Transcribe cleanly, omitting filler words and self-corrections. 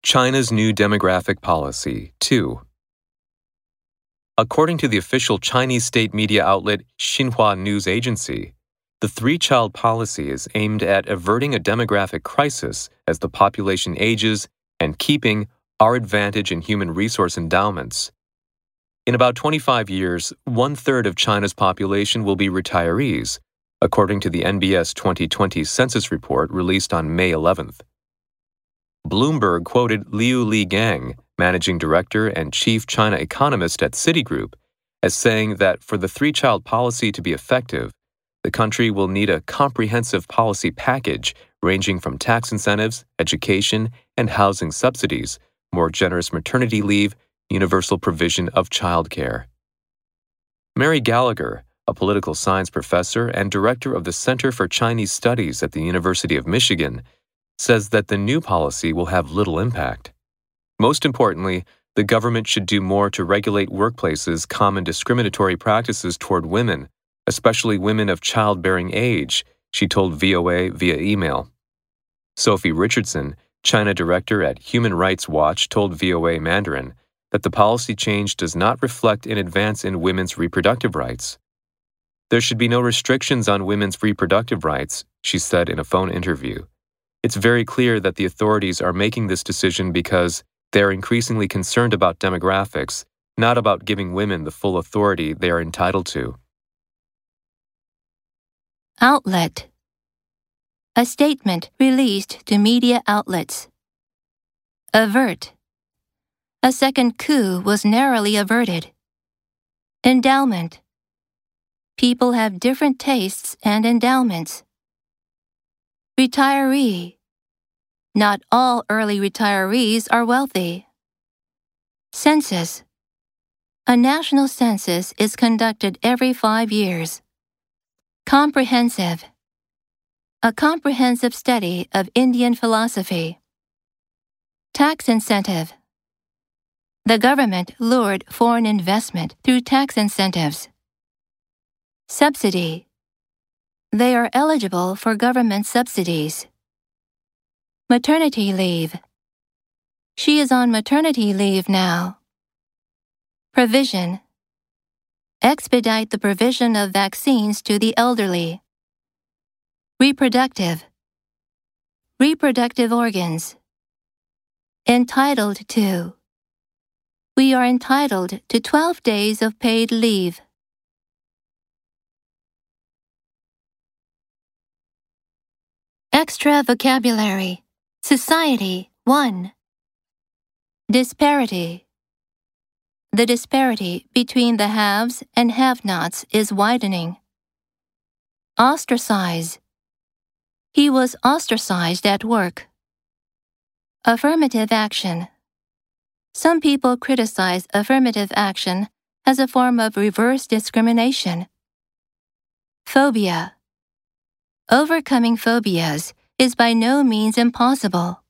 China's New Demographic Policy 2. According to the official Chinese state media outlet Xinhua News Agency, the three-child policy is aimed at averting a demographic crisis as the population ages and keeping our advantage in human resource endowments. In about 25 years, one-third of China's population will be retirees, according to the NBS 2020 census report released on May 11th. Bloomberg quoted Liu Ligang, managing director and chief China economist at Citigroup, as saying that for the three-child policy to be effective, the country will need a comprehensive policy package ranging from tax incentives, education, and housing subsidies, more generous maternity leave, universal provision of childcare. Mary Gallagher, a political science professor and director of the Center for Chinese Studies at the University of Michigan, says that the new policy will have little impact. Most importantly, the government should do more to regulate workplaces' common discriminatory practices toward women, especially women of childbearing age, she told VOA via email. Sophie Richardson, China director at Human Rights Watch, told VOA Mandarin that the policy change does not reflect an advance in women's reproductive rights. There should be no restrictions on women's reproductive rights, she said in a phone interview. It's very clear that the authorities are making this decision because they are increasingly concerned about demographics, not about giving women the full authority they are entitled to. Outlet. A statement released to media outlets. Avert. A second coup was narrowly averted. Endowment. People have different tastes and endowments. Retiree. Not all early retirees are wealthy. Census. A national census is conducted every 5 years. Comprehensive. A comprehensive study of Indian philosophy. Tax incentive. The government lured foreign investment through tax incentives. Subsidy. They are eligible for government subsidies. Maternity leave. She is on maternity leave now. Provision. Expedite the provision of vaccines to the elderly. Reproductive. Reproductive organs. Entitled to. We are entitled to 12 days of paid leave. Extra vocabulary. Society 1. Disparity. The disparity between the haves and have-nots is widening. Ostracize. He was ostracized at work. Affirmative action. Some people criticize affirmative action as a form of reverse discrimination. Phobia. Overcoming phobias is by no means impossible.